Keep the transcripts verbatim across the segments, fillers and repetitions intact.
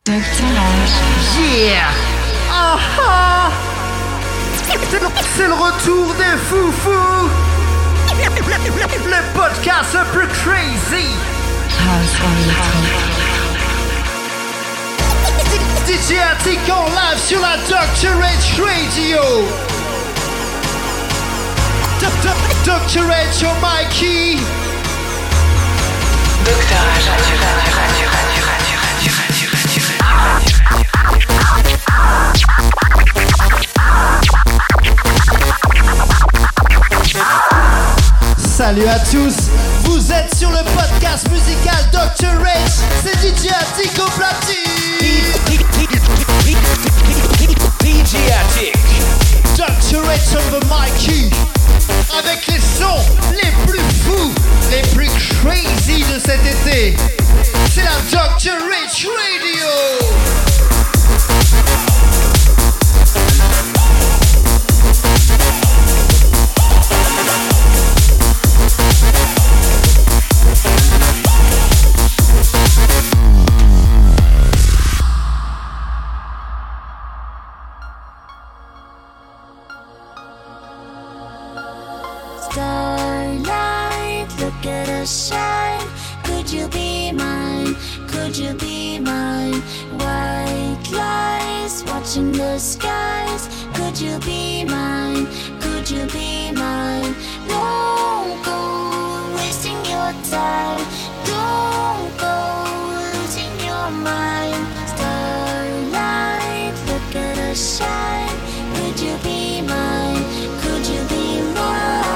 Yeah! Ah ah! C'est le retour des foufous! Le podcast le plus crazy! D J Attic en live sur la doctor H Radio! doctor H au Mikey! docteur H Radio, Radio, Radio, Radio, Radio, Radio, Radio, Salut à tous, vous êtes sur le podcast musical doctor H, c'est D J Attic au platine. D J Attic, doctor H on the Mikey, avec les sons les plus fous, les plus crazy de cet été. C'est la doctor H Radio. Starlight, look at us shine. Could you be mine? Could you be mine? White lies watching the skies. Could you be mine? Could you be mine? Don't go wasting your time. Don't go losing your mind. Starlight, look at us shine. Could you be mine? Could you be mine?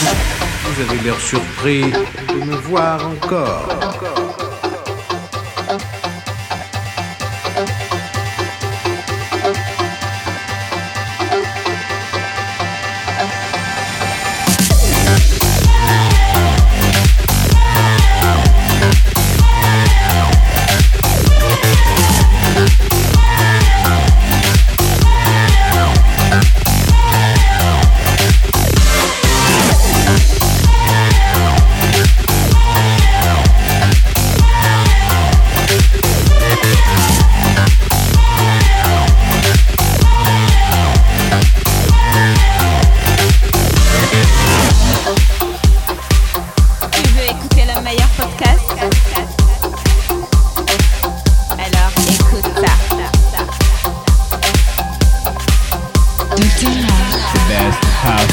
Vous avez l'air surpris de me voir encore.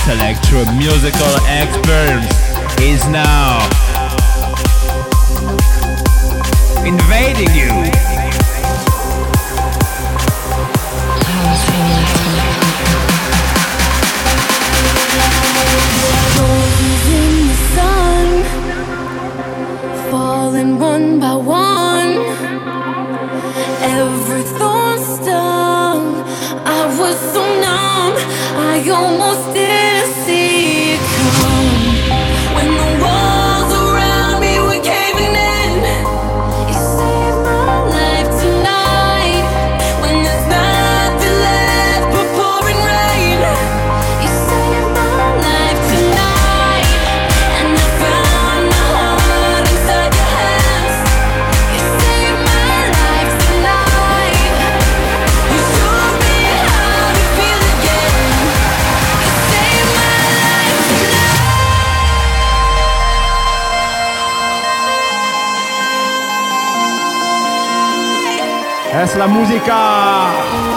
electro musical experience is now invading you. In the sun, falling one by one. Every thorn stung. I was so numb, I almost didn't see it come. When the walls around me were caving in, you saved my life tonight. When there's nothing left but pouring rain, you saved my life tonight. And I found my heart inside your hands. You saved my life tonight. You showed me how to feel again. You saved my life tonight. Es la música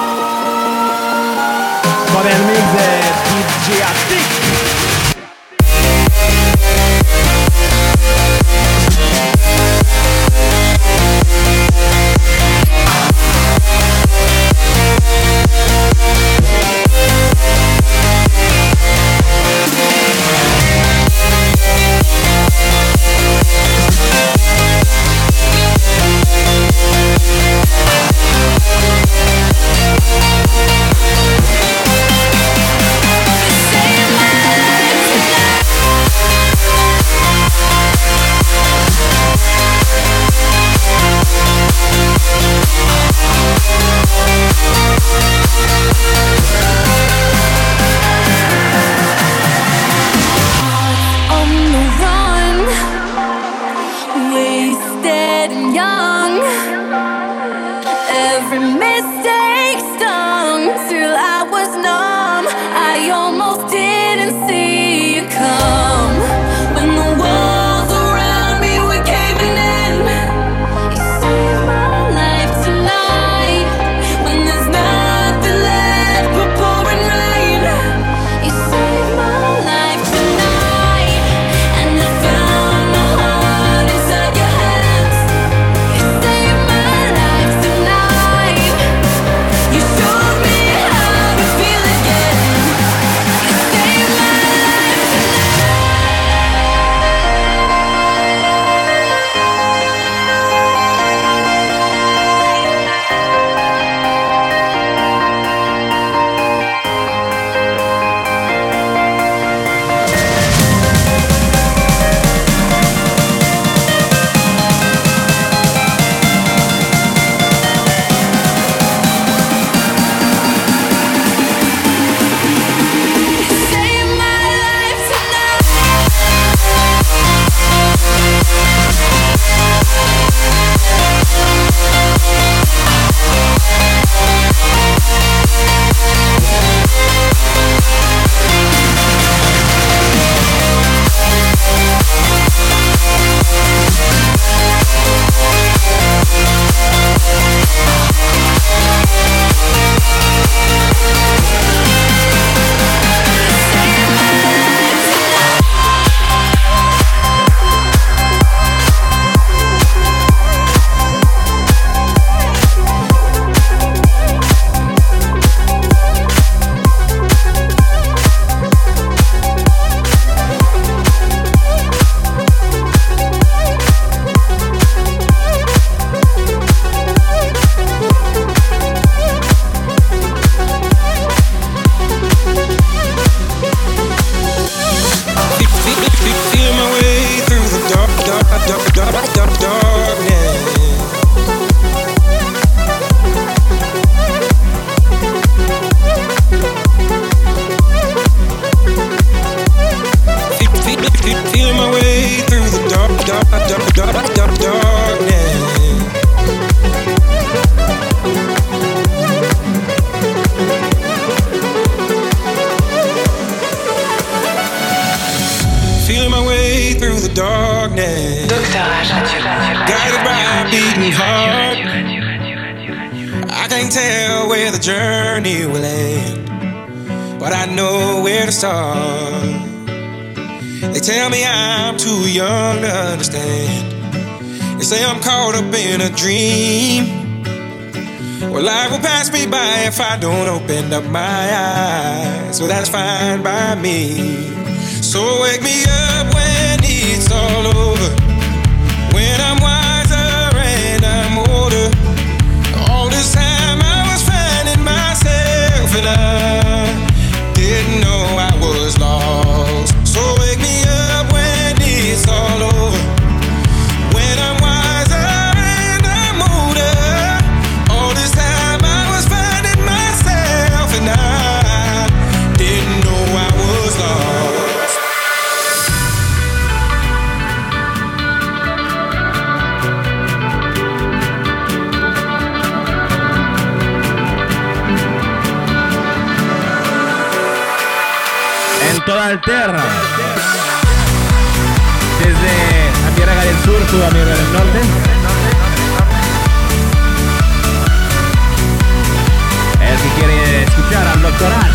con el mix de D J Attic. can't tell where the journey will end. but I know where to start. They tell me I'm too young to understand. They say I'm caught up in a dream. Well, life will pass me by if I don't open up my eyes. So that's fine by me. So wake me up when it's all over, when I'm wiser and I'm older. All this time I was finding myself and I didn't know I was lost. So wake me up when it's all over, when I'm wiser and I'm older. All this time I was finding myself and I didn't know I was lost. En toda Alterra, desde América del Sur, Sudamérica del Norte. El que quiere escuchar al doctoral.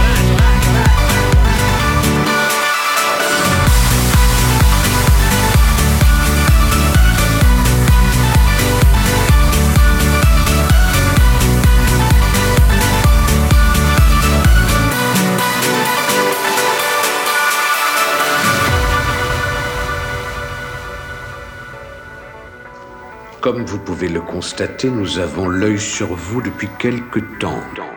Comme vous pouvez le constater, nous avons l'œil sur vous depuis quelque temps.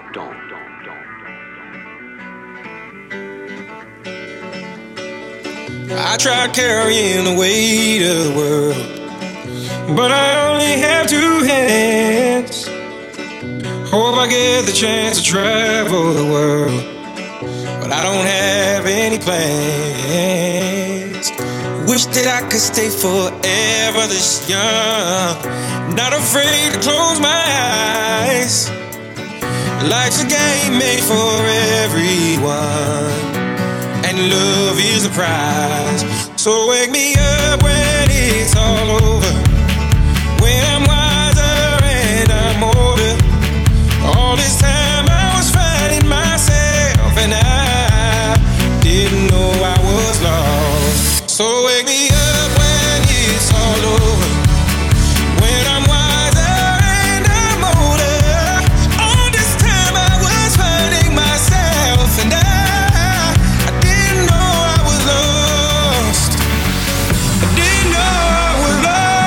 I tried carrying the weight of the world, but I only have two hands. Hope I get the chance to travel the world, but I don't have any plans. Wish that I could stay forever this young, not afraid to close my eyes. Life's a game made for everyone, and love is the prize. So wake me up when it's all over, when I'm wiser and I'm older. All this time I was finding myself and I didn't know I was lost. So wake me up when it's all over, when I'm wiser and I'm older. All this time I was finding myself and I, I didn't know I was lost. I didn't know I was lost.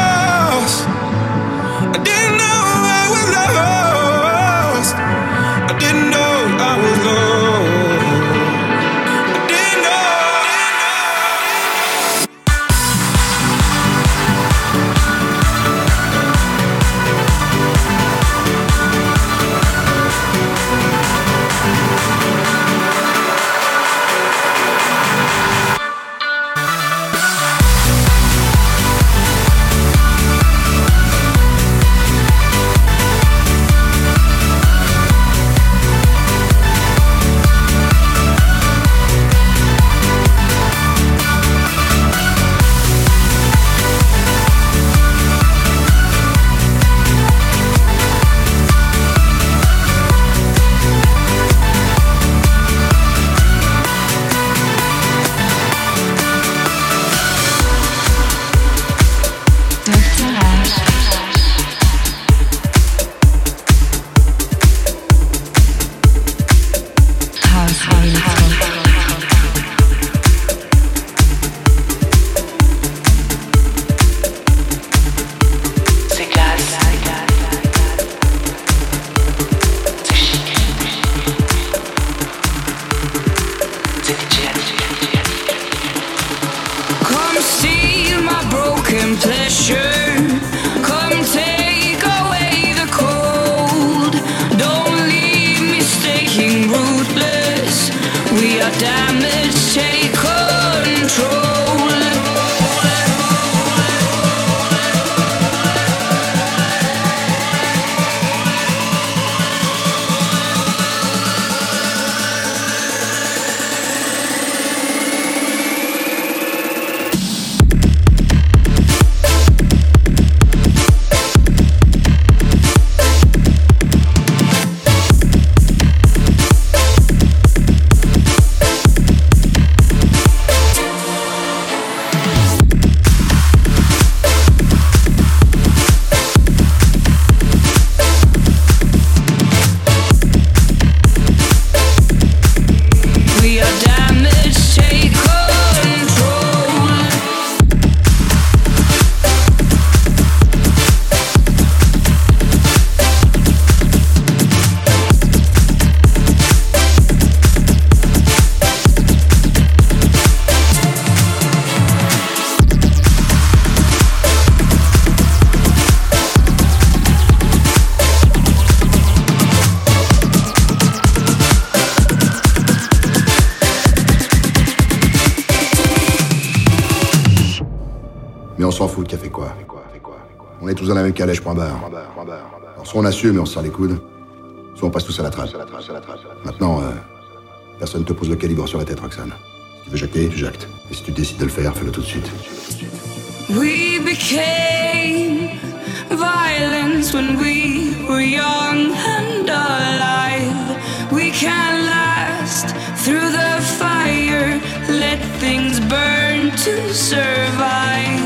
foutre qui a fait quoi. On est tous dans la même calèche, point barre. Alors soit on assume et on se serre les coudes, soit on passe tous à la trace. Maintenant, euh, personne te pose le calibre sur la tête, Roxane. Si tu veux jacter, tu jactes. Et si tu décides de le faire, fais-le tout de suite. We became violence when we were young and alive. We can last through the fire, let things burn to survive.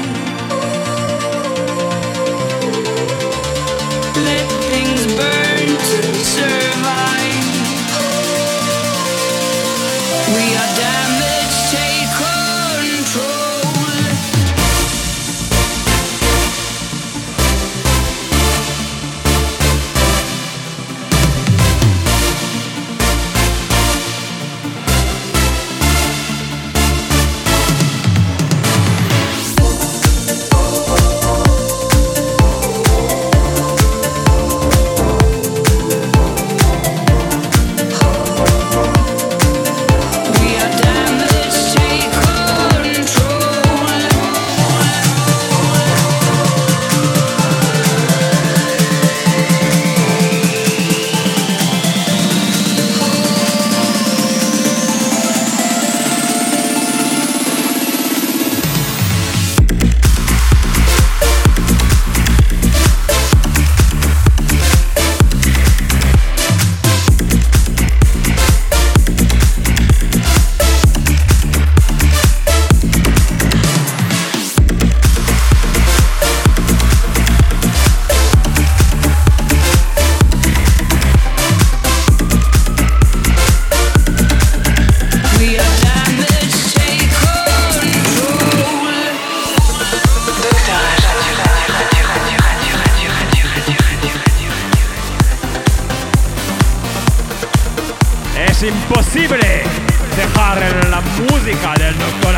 Let things burn to survive. We are damaged, take control. Impossibile dejar la música del doctor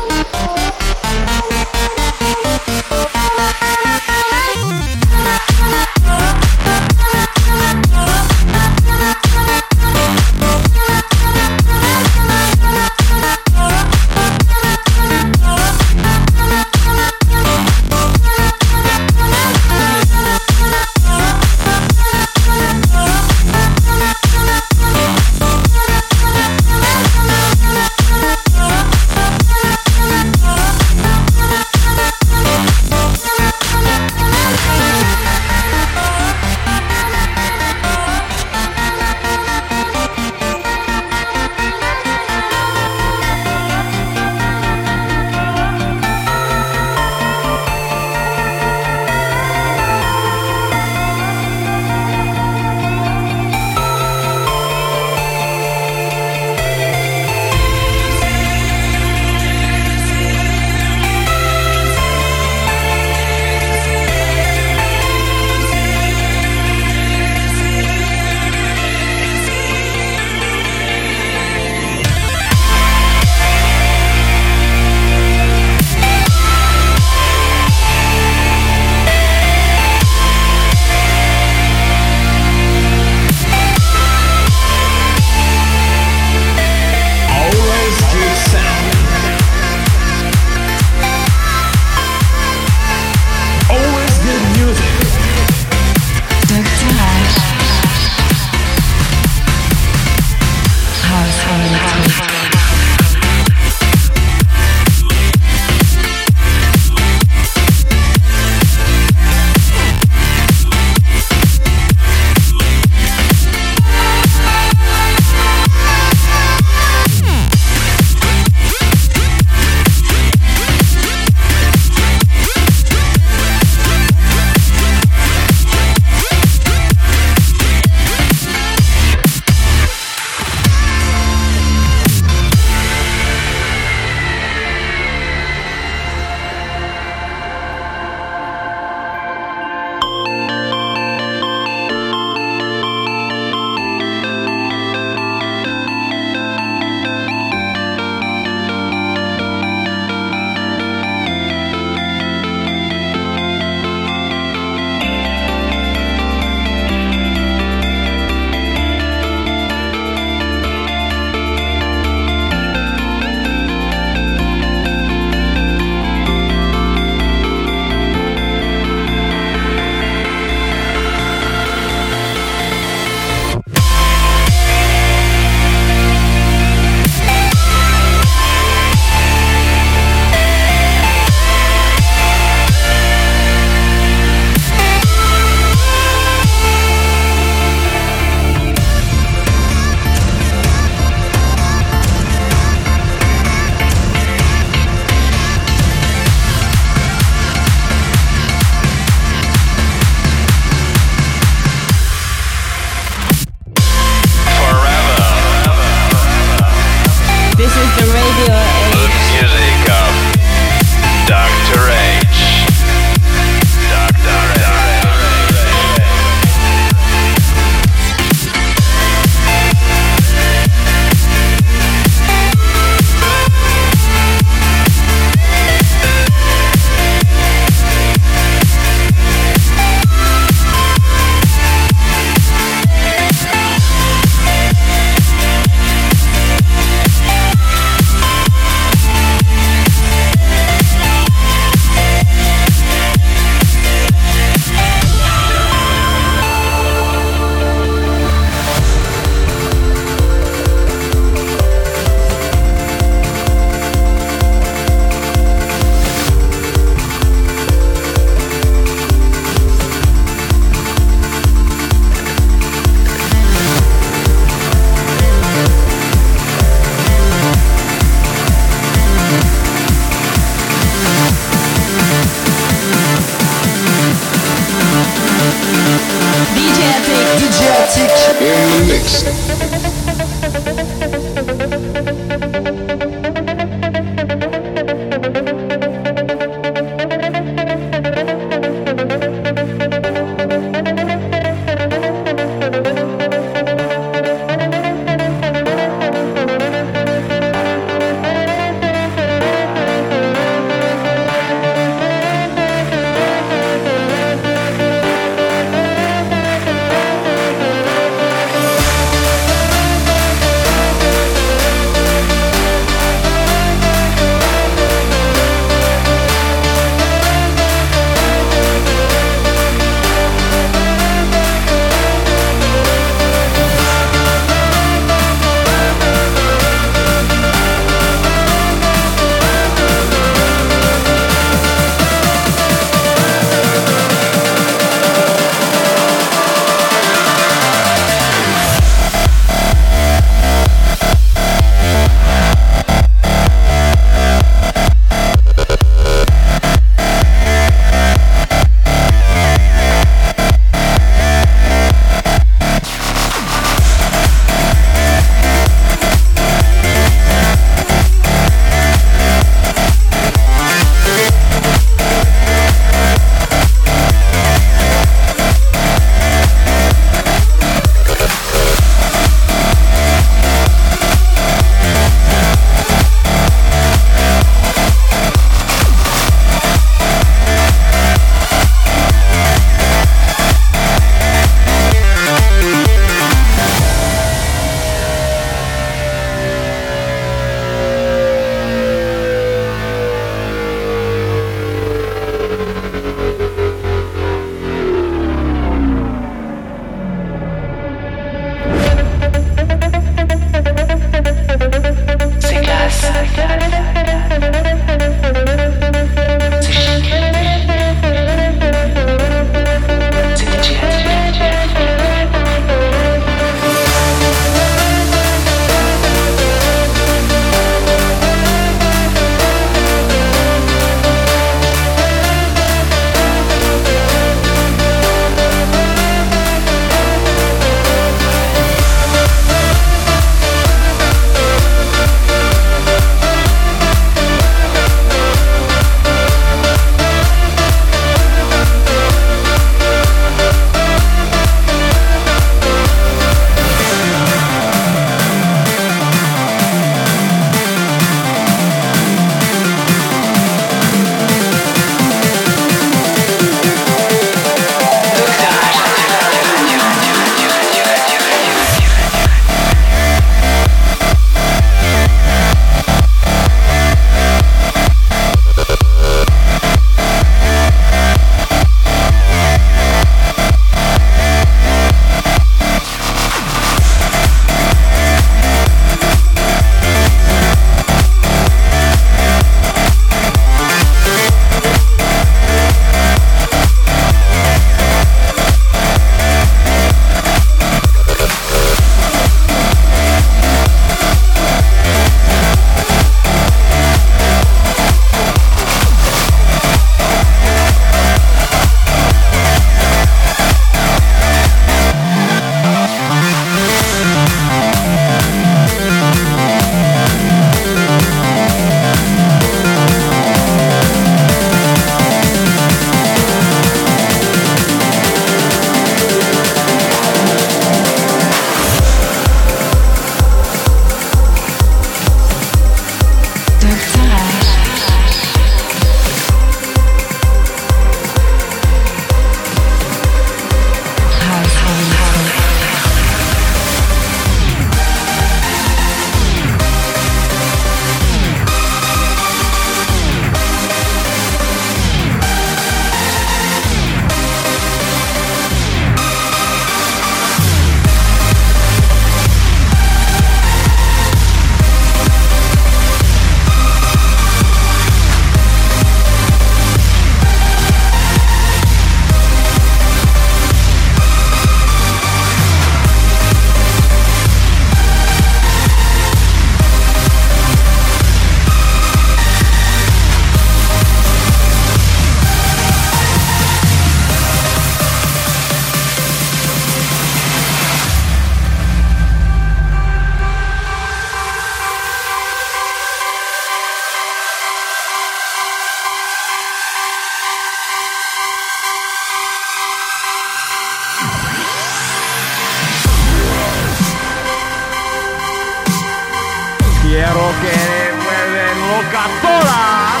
que vuelven locas todas.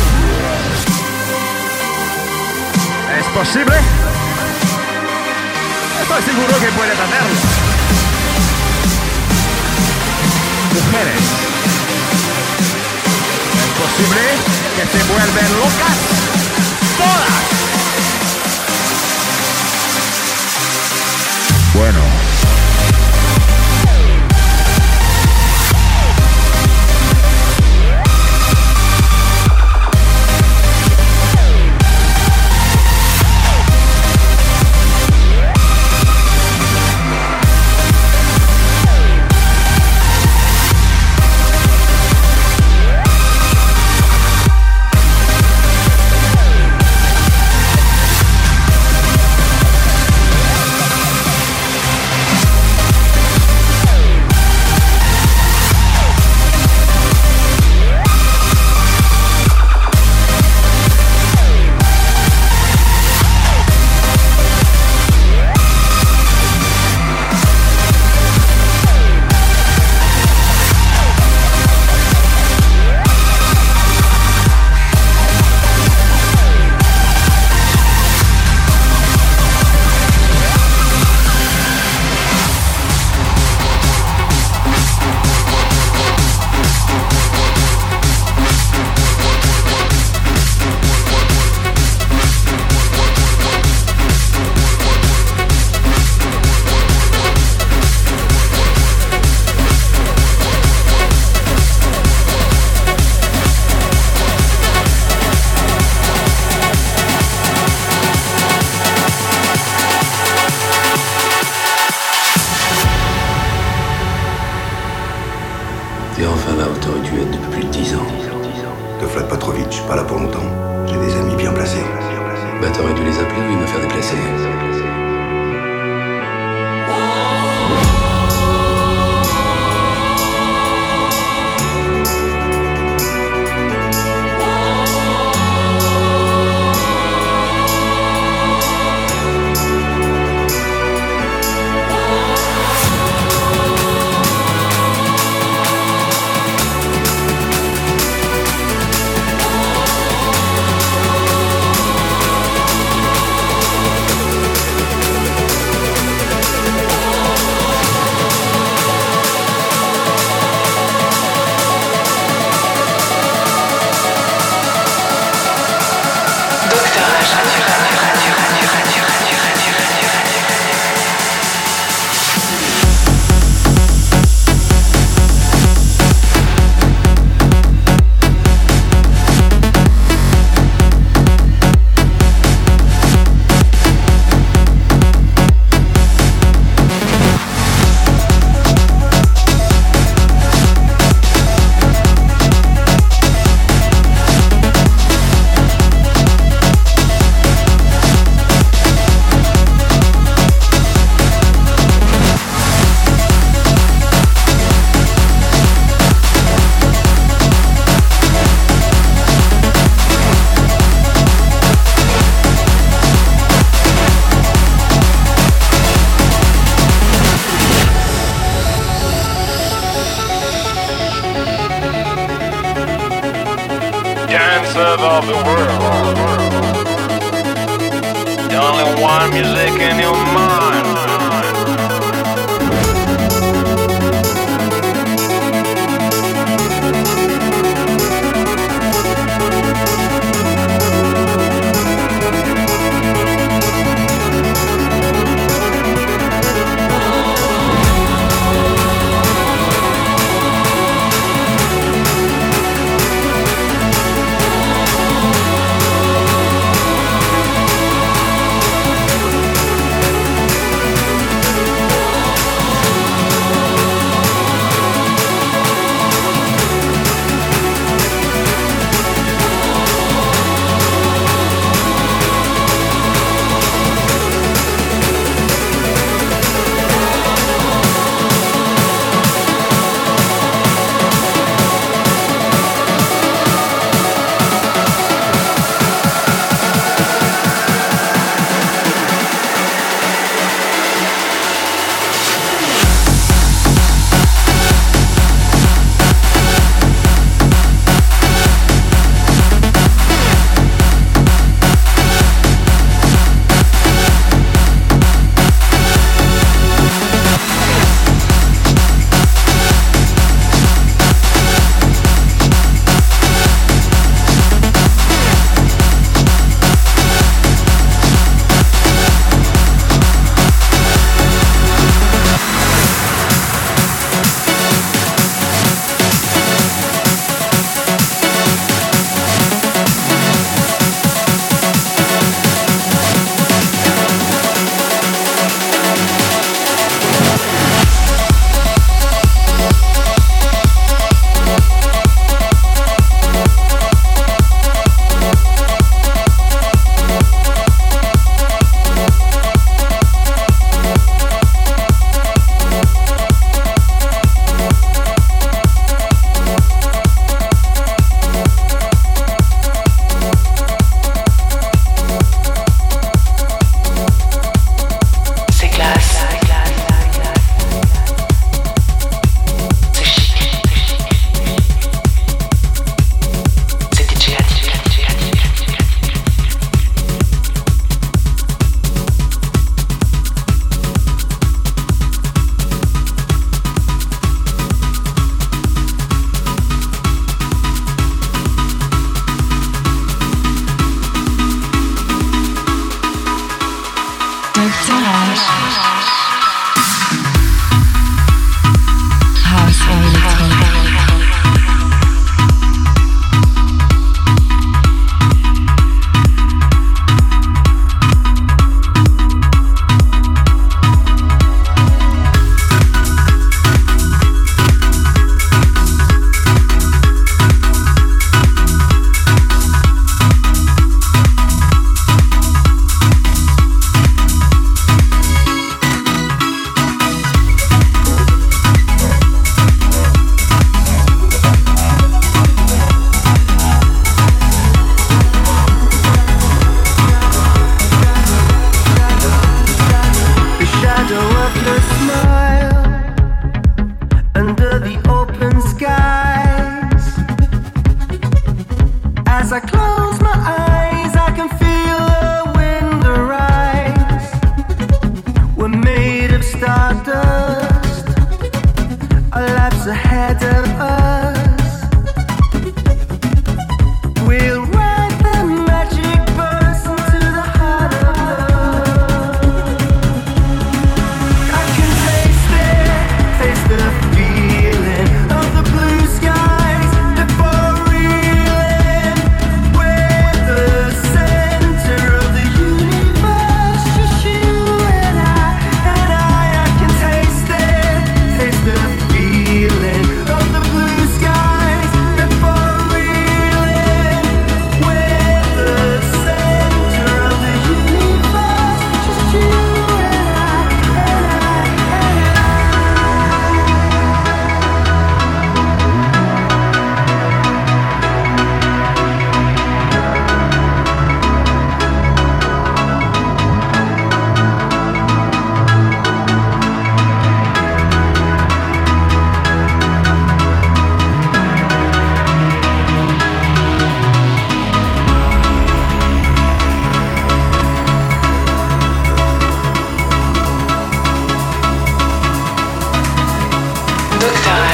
¿Es posible? Estoy seguro que puedes hacerlo. Mujeres, ¿es posible que se vuelven locas todas? Bueno. T'es enfin là où t'aurais dû être depuis plus de dix ans. Te flatte pas trop vite, je suis pas là pour longtemps. J'ai des amis bien placés. Bah t'aurais dû les appeler, oui, me faire déplacer. Dancer of the world. The only one music in your mind.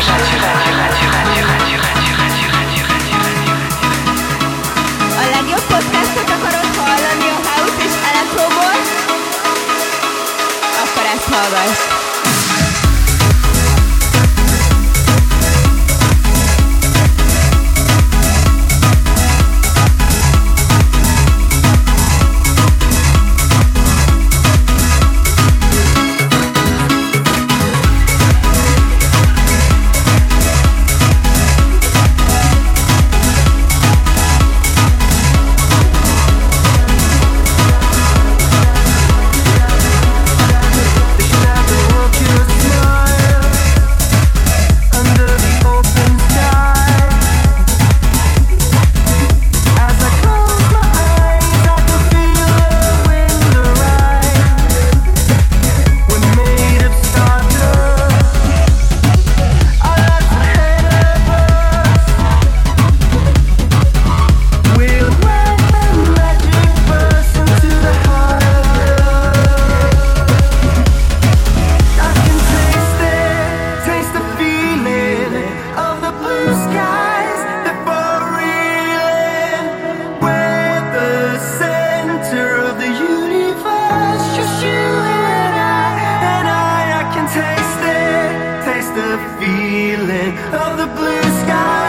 A legjobb podcastot akarod hallani a house és elektroból? Akkor ezt hallgass! Feeling of the blue sky.